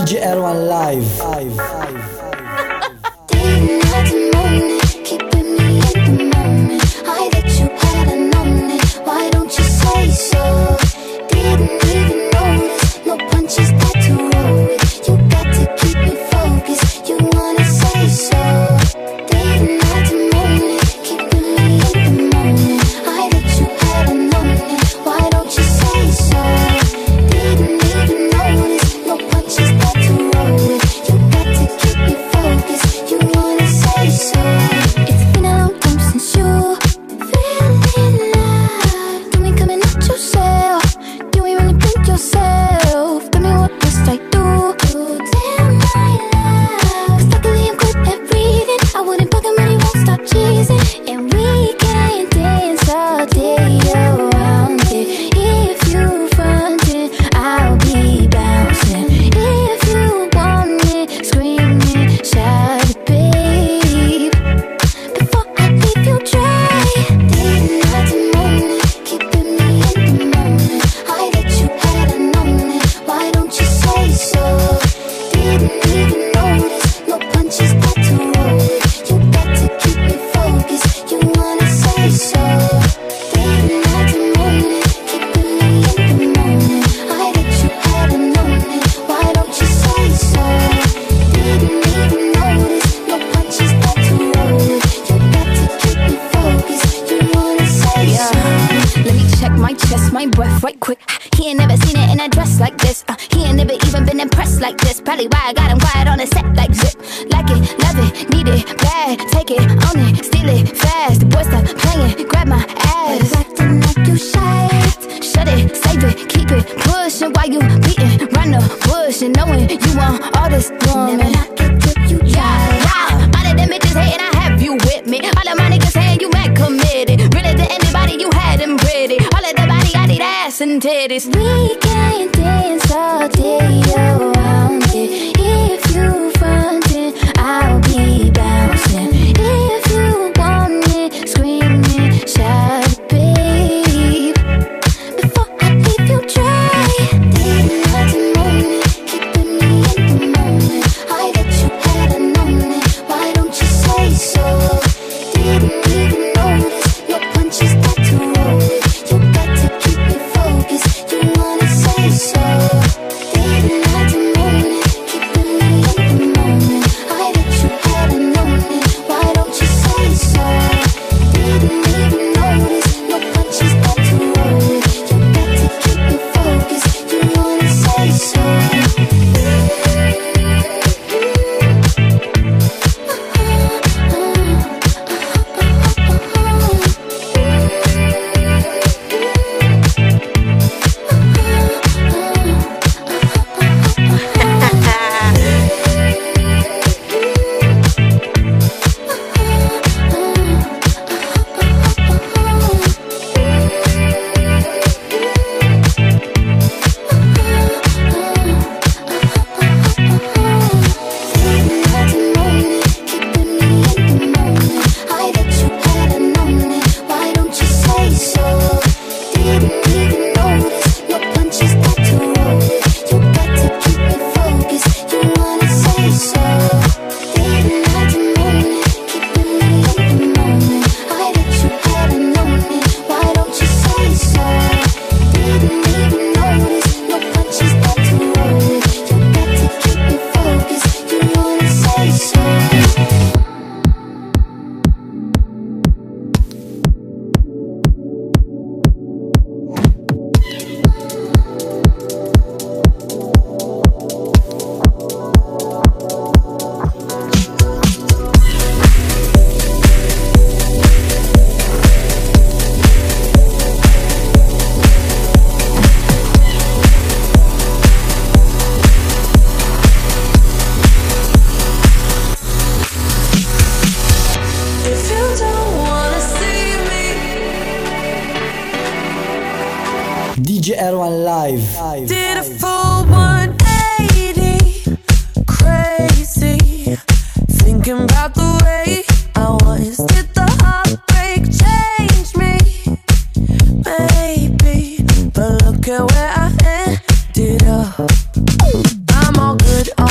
DJ Erwan live. Day, night and morning, keeping me in the moment. I that you hadn't known it. Why don't you say so? Didn't even notice. No punches got to roll with. You got to keep me focused. You wanna say so? Day, night and morning, keeping me in the moment. I that you hadn't known it. Why don't you say so? Didn't even notice. No punches got to roll with. You got to keep me focused. You wanna say so? It's been a long time since you feeling love. Do me coming at yourself. You ain't really think yourself. Tell me what must I do? Damn my love. 'Cause luckily I'm good at breathing. I wouldn't bug him and he won't stop cheesing. And we can dance all day around it. If you frontin', I'll be bouncing. If you want it, scream it, shout it, babe. Before I leave you dry. Day, night and morning, keeping me in the moment. I that you hadn't known it. Why don't you say so? Didn't even notice. No punches got to roll with. You got to keep me focused. You wanna say so? Day, night and morning, keeping me in the moment. I that you hadn't known it. Why don't you say so? Didn't even notice. No punches got to roll with. You got to keep me focused. You wanna say so? Let me check my chest, my breath right quick. He ain't never seen it in a dress like this. He ain't never even been impressed like this. Probably why I got him quiet on the set like zip. Like it, love it, need it, bad. Take it, own it, steal it, fast. The boy stop playing, grab my ass. Acting like you shy. Shut it, save it, keep it pushing while you beating round the bush and knowing you want all this woman. Never knock it till you try. Yeah, all of them bitches hating, I have you with me. All of my niggas saying you mad committed. Really to anybody, you had them pretty. All of the body, I need ass and titties. We can dance all day around it. If you frontin', I'll be bouncing. If you want it, scream it, shout it, babe. Before I leave you dry. Day, night and morning, keeping me in the moment. I that you hadn't known it. Why don't you say so? Didn't even notice. No punches got to roll with. You got to keep me focused. You wanna say so? Day, night and morning, keeping me in the moment. I that you hadn't known it. Why don't you say so? Didn't even notice. No punches got to roll with. You got to keep me focused. You wanna say so? DJ Erwan live. Did a full 180, crazy, thinking about the way I was. Did the heartbreak change me? Maybe, but look at where I ended up. I'm all good.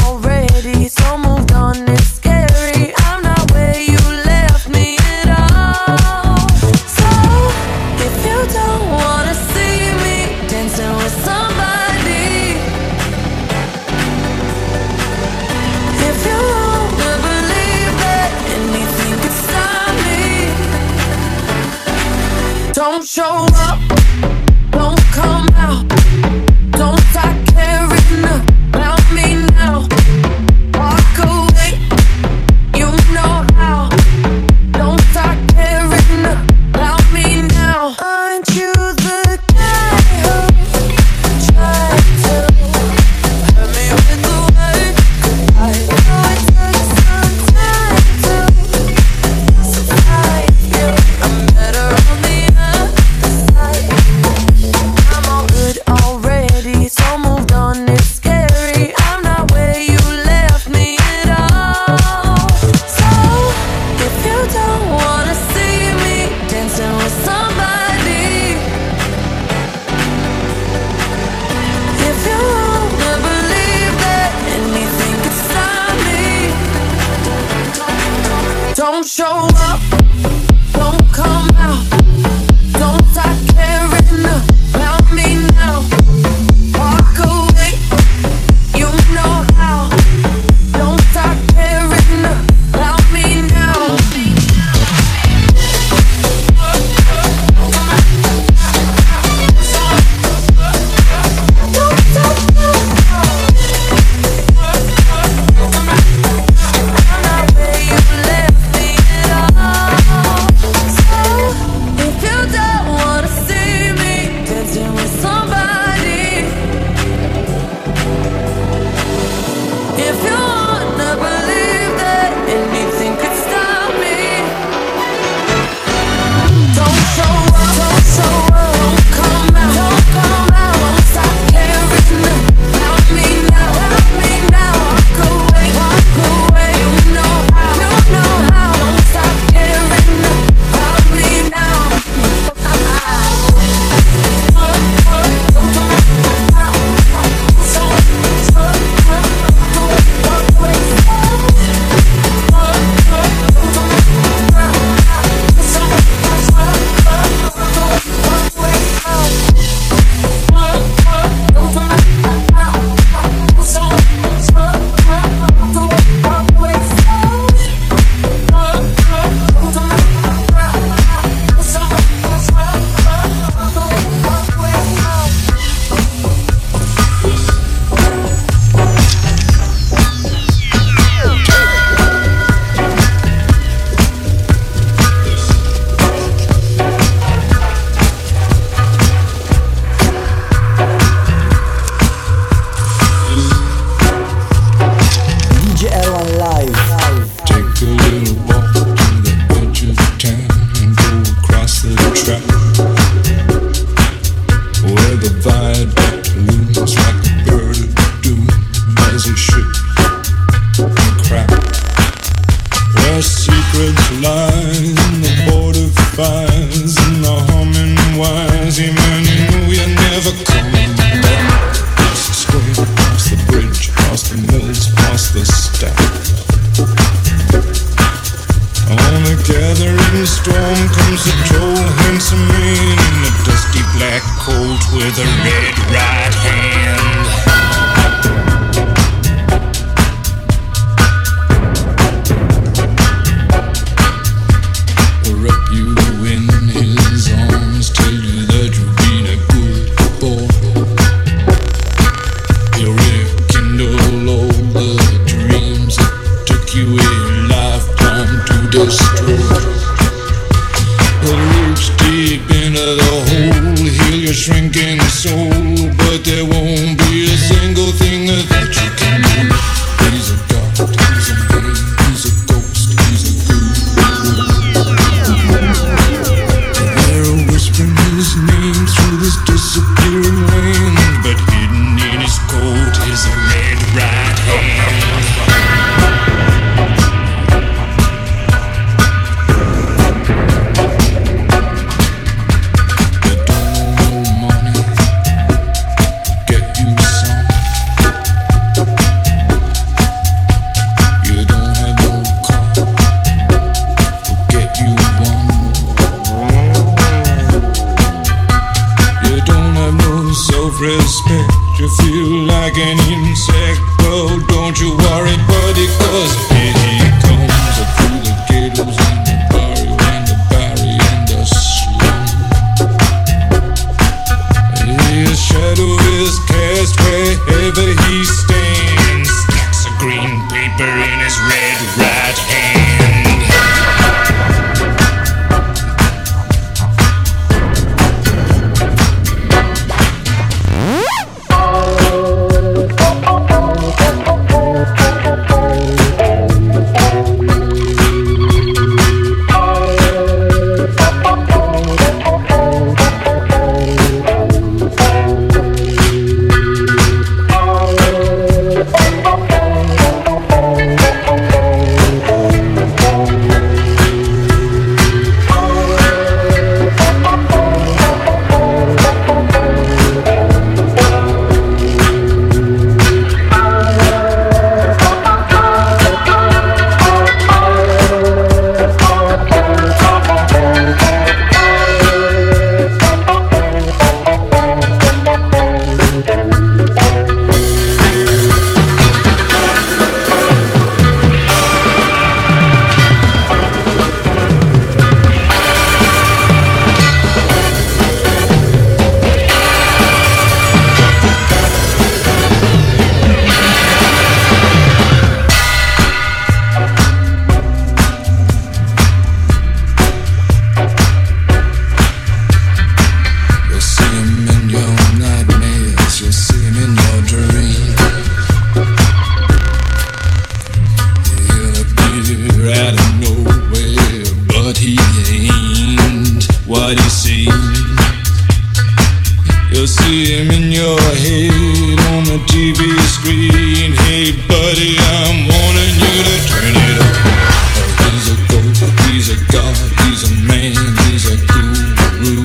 show up, don't come out, don't start caring about me now. Walk away, you know how. Don't start caring about me now. Aren't you the guy who tried to hurt me with the word goodbye? Oh, it took some time to survive you. I'm better on the other side. I'm all good already, so moved on, it's scary. I'm not where you left me at all. So, if you don't wanna see me dancing with somebody, if you wanna believe that anything could stop me, don't show up, don't come out, don't start caring about me now. Walk away, you know how. Don't start caring about me now. I'm not where you left me at all. So if you don't wanna see me dancing with somebody, if you wanna believe that anything could stop me, don't show up, don't come out, don't stop caring about me now, walk away, you know how, don't stop caring about me now. DJ Erwan Live. Take a little walk to the edge of town and go across the track where the viaduct looms like a bird of doom as it should crack. Where secrets lie in the border fires and the humming wires. Yeah, man, you know you're never coming back. Across the square, across the bridge, across the mills, past the stack. On a gathering storm comes a tall, handsome man in a dusty black coat with a red right hand. Will wrap you in his arms, tell you that you've been a good boy. He'll rekindle all the dreams that took you a lifetime to destroy. He'll reach deep into the hole, heal your shrinking soul, but there won't be a single thing that you can do. He's a god, he's a man, he's a ghost, he's a ghoul. They're whispering his name through this disappearing land, but hidden in his coat is a red right hand. You don't know money, get you some. You don't have no car, get you one. You don't have no self-respect, you feel like an insect. Well, don't you worry, buddy, 'cause here he comes through the ghettos and the barrio and the barrio and the slum. see him in your head on the TV screen. Hey buddy, I'm warning you to turn it up. He's a ghost, he's a god, he's a man, he's a guru.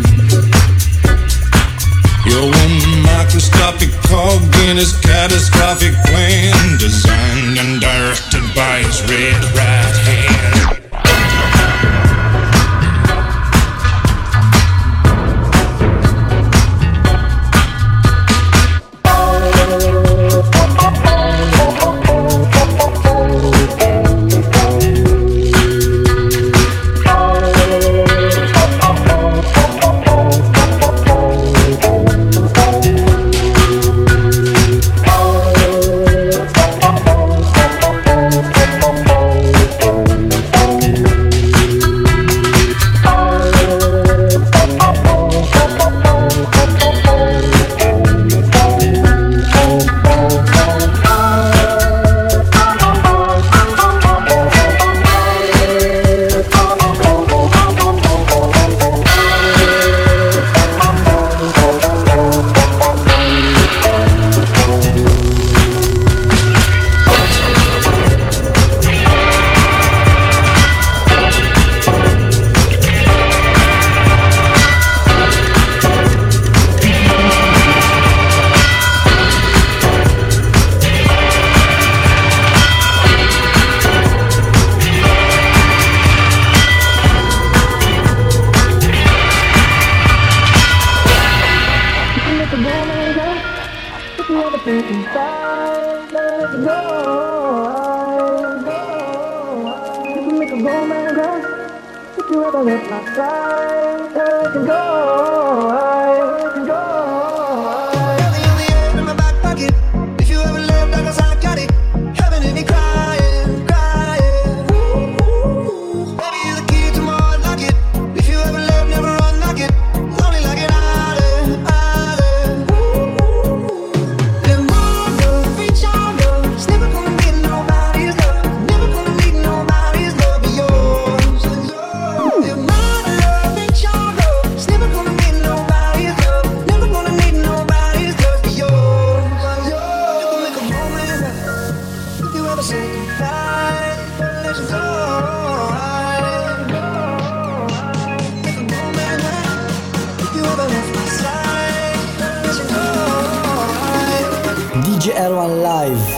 You're one microscopic cog in his catastrophic plan, designed and directed by his red right hand. DJ Erwan Live.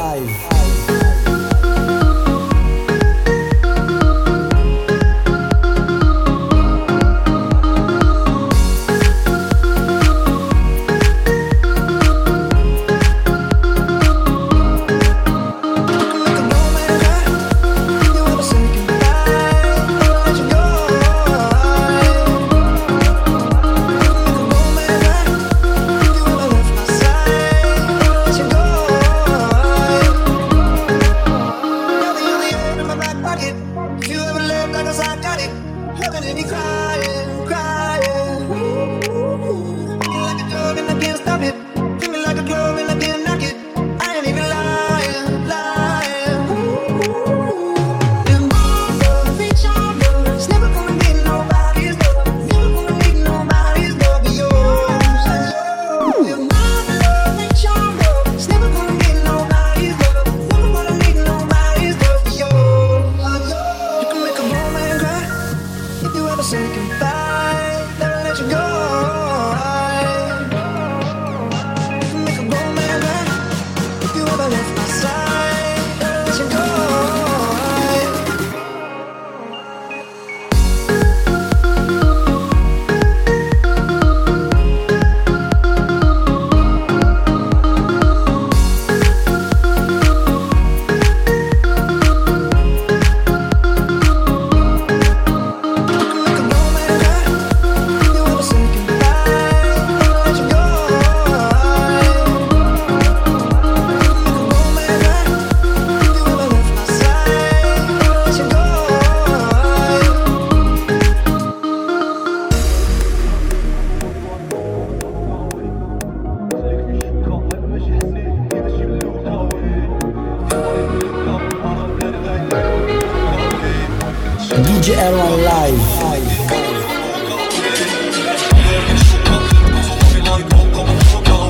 DJ Erwan Live.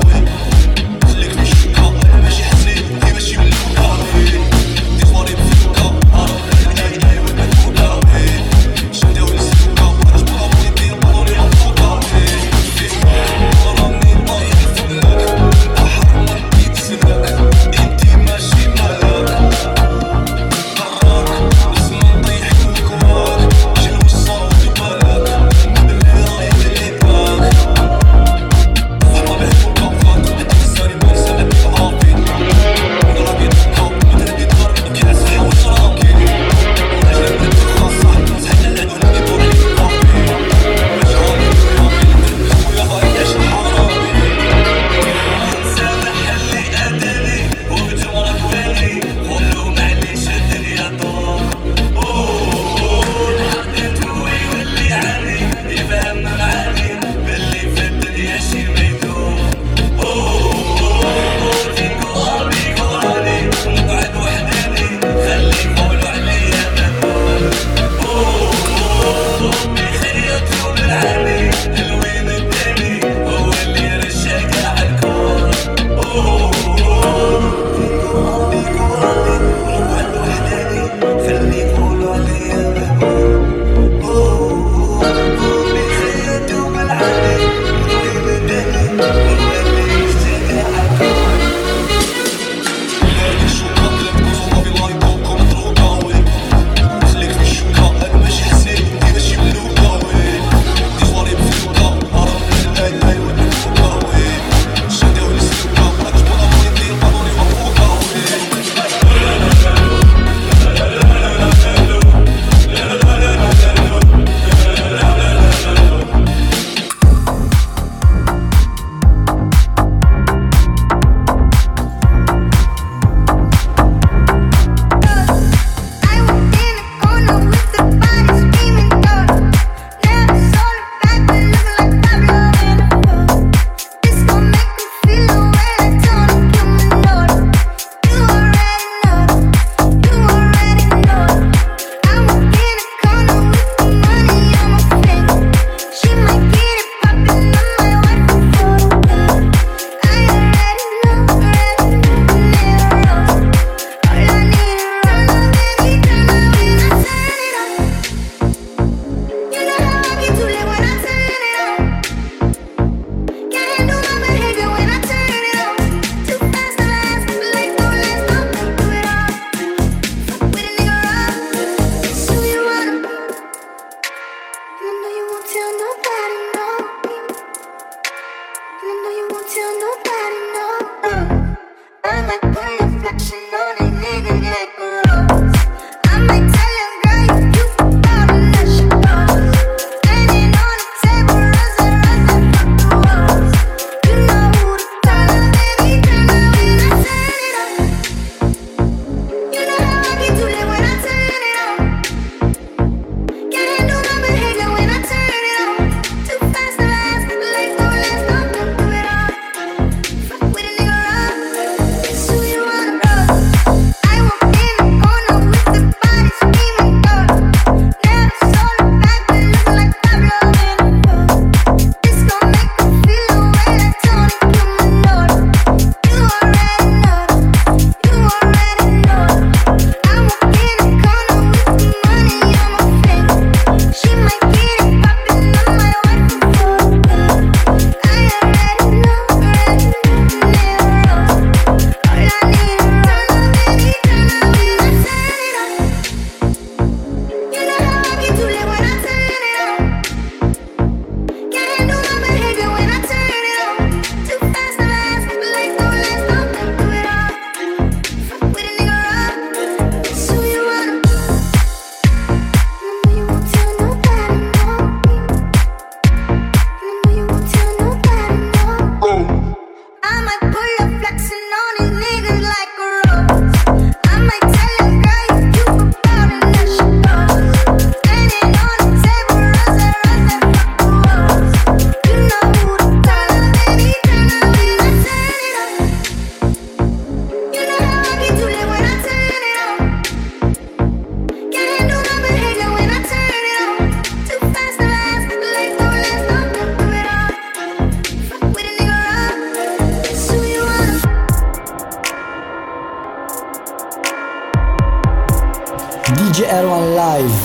Erwan Live.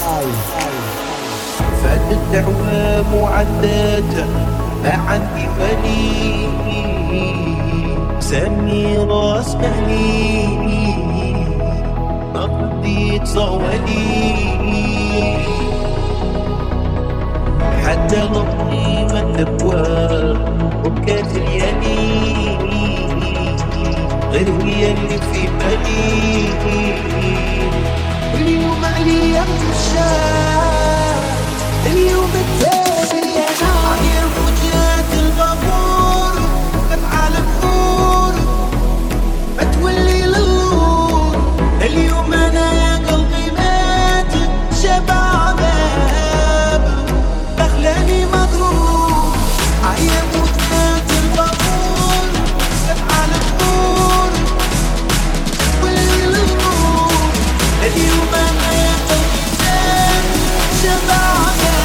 فاتت أعوام وعدت ما عندي مالي سميرة اسمعني ما رديت صوالي حتى نطي ما الابواب وبكات ليالي غير هي اللي في بالي واليوم عليا مشات اليوم التالي انا عير وجهات الغفور افعال بخور ما تولي للنور اليوم انا يا قلبي مات شبع عذاب دخلاني مضروب عير وجهات الغفور افعال بخور تولي للنور اليوم انا يا قلبي مات شبع عذاب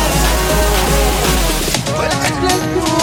ولا أكلت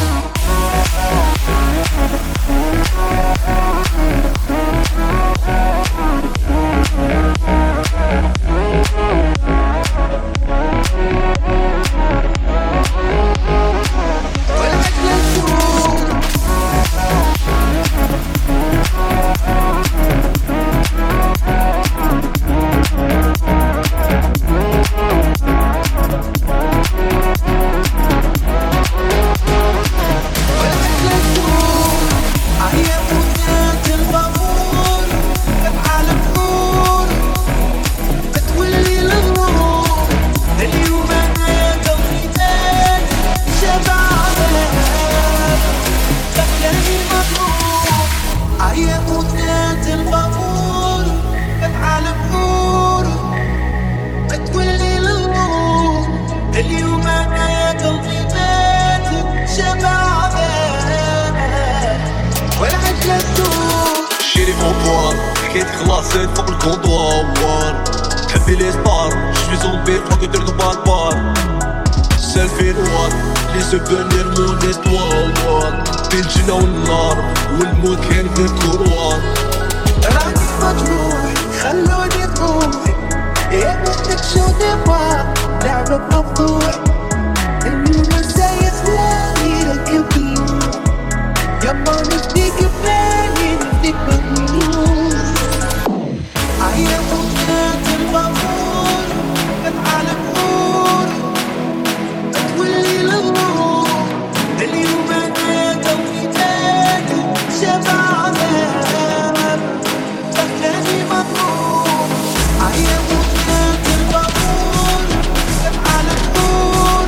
خلاصين فوق الكوندوار حبي لي سبار شفي زومبي فوق درت بار سيلفي نوار لي سوفونير مون استوار بين الجنة والنار والموت كان في الكروار راني مجروح خلوني طموح يا بدك شو تبغى لعبة مفتوح اليوم ازاي خلاني ركبني يما نفديك ببالي نفديك بالمليون عيا وجهات الغفور افعال بخور تولي للنور اليوم انا يا قلبي مات شبع عذاب دخلاني مضروب عيا وجهات الغفور افعال بخور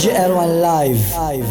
DJ Erwan Live.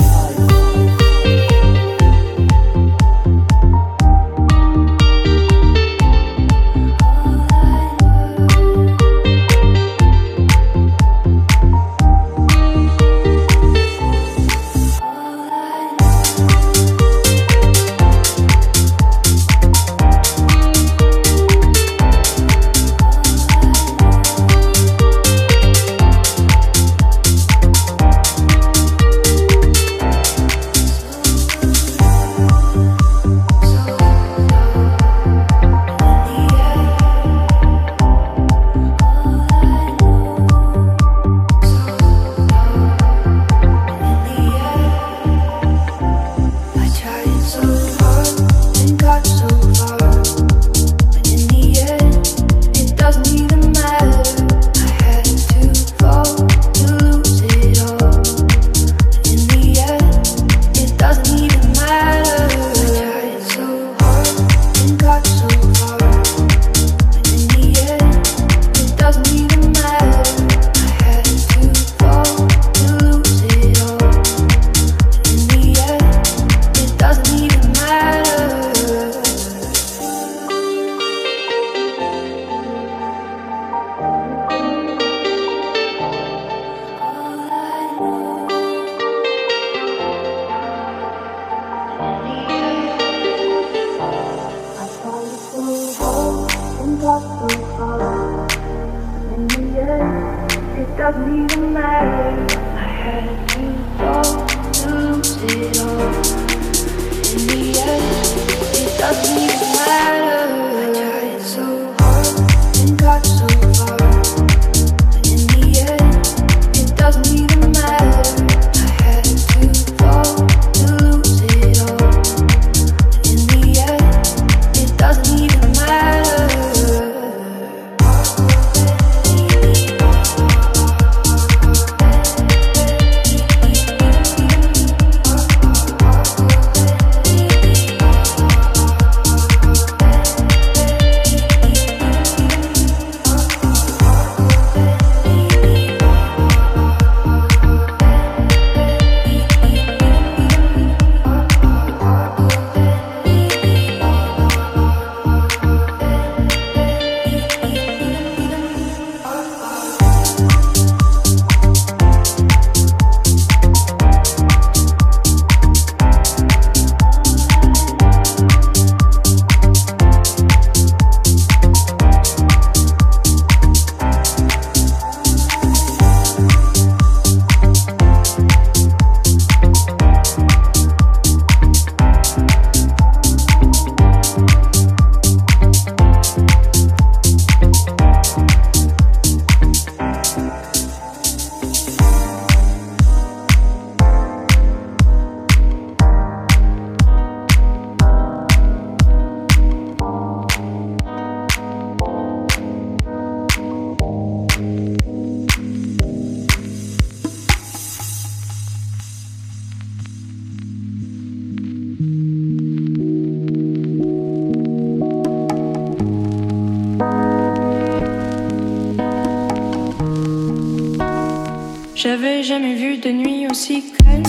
J'avais jamais vu de nuit aussi calme.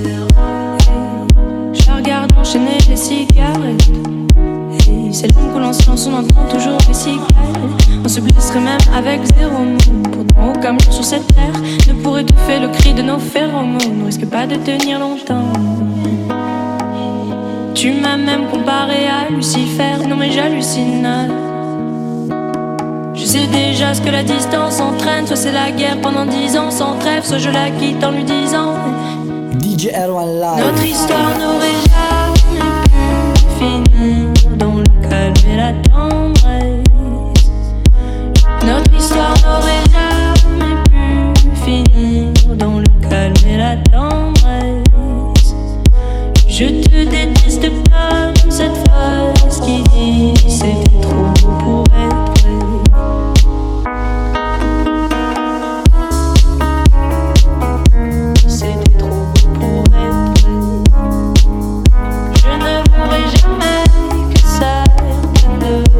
Je la regarde enchaîner les cigarettes. Et c'est l'homme que l'on silence, on entend toujours les cigales. On se blesserait même avec 0 mot. Pourtant aucun mot sur cette terre ne pourrait étouffer le cri de nos phéromones. On risque pas de tenir longtemps. Tu m'as même comparé à Lucifer. Non mais j'hallucine. Je sais déjà ce que la distance entraîne. Soit c'est la guerre pendant 10 ans sans trêve, soit je la quitte en lui disant DJ Erwan Live. Notre histoire n'aurait jamais pu finir dans le calme et la tendresse. Notre histoire n'aurait jamais pu finir dans le calme et la tendresse. Je te déteste comme cette phrase qui dit c'était trop beau pour être vrai. C'était trop beau pour être vrai. Je ne pourrai jamais que ça ne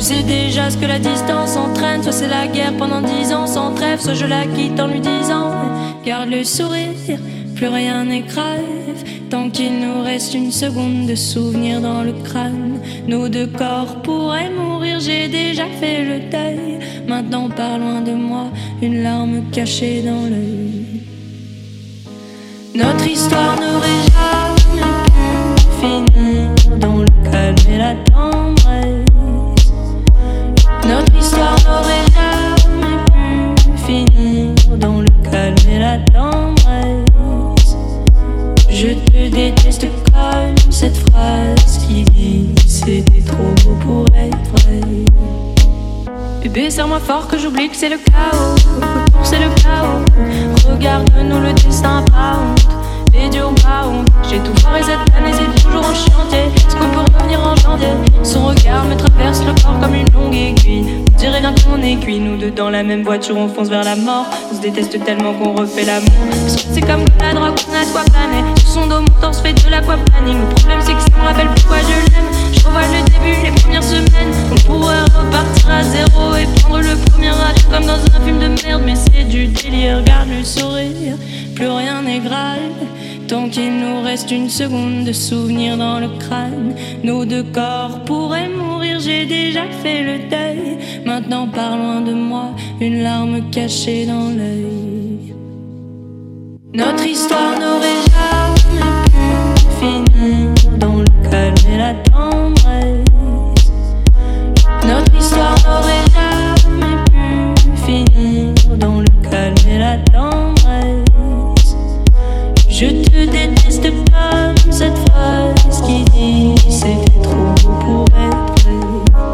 sais déjà ce que la distance entraîne. Soit c'est la guerre pendant 10 ans sans trêve, soit je la quitte en lui disant garde le sourire, plus rien n'est grave. Tant qu'il nous reste une seconde de souvenir dans le crâne, nos deux corps pourraient mourir, j'ai déjà fait le deuil. Maintenant pars loin de moi, une larme cachée dans l'œil. Notre histoire n'aurait jamais pu finir dans le calme et la tendresse. Notre histoire n'aurait jamais pu finir dans le calme et la tendresse. Je te déteste comme cette phrase qui dit c'était trop beau pour être vrai. Bébé, serre-moi fort que j'oublie que c'est le chaos. C'est le chaos. Regarde-nous, le destin pas honte. Les dieux ont pas honte. J'ai tout foiré cette année, c'est toujours en chantier. Est-ce qu'on peut revenir en janvier? Son regard me traverse le corps comme une longue aiguille. On dirait bien qu'on est cuit, nous deux dans la même voiture, on fonce vers la mort. On se déteste tellement qu'on refait l'amour. C'est comme la drogue, on a de quoi planer. Sur son dos, mon torse fait de l'aquaplaning. Le problème c'est que ça me rappelle pourquoi je l'aime. Je revois le début, les premières semaines. On pourrait repartir à zéro et prendre le premier avion comme dans un film de merde. Mais c'est du délire, regarde le sourire, plus rien n'est grave. Tant qu'il nous reste une seconde de souvenir dans le crâne, nos deux corps pourraient mourir, j'ai déjà fait le deuil. Maintenant pars loin de moi, une larme cachée dans l'œil. Notre histoire n'aurait jamais pu finir dans le calme et la tendresse. Notre histoire n'aurait jamais pu finir dans le calme et la tendresse. Je te déteste comme cette phrase qui dit c'était trop beau pour être vrai.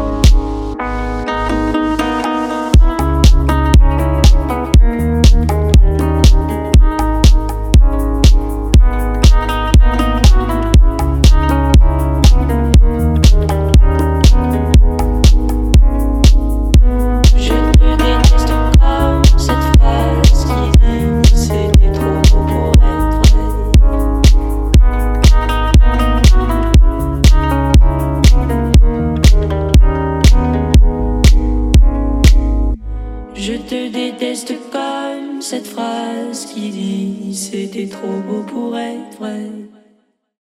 Je te déteste comme cette phrase qui dit c'était trop beau pour être vrai.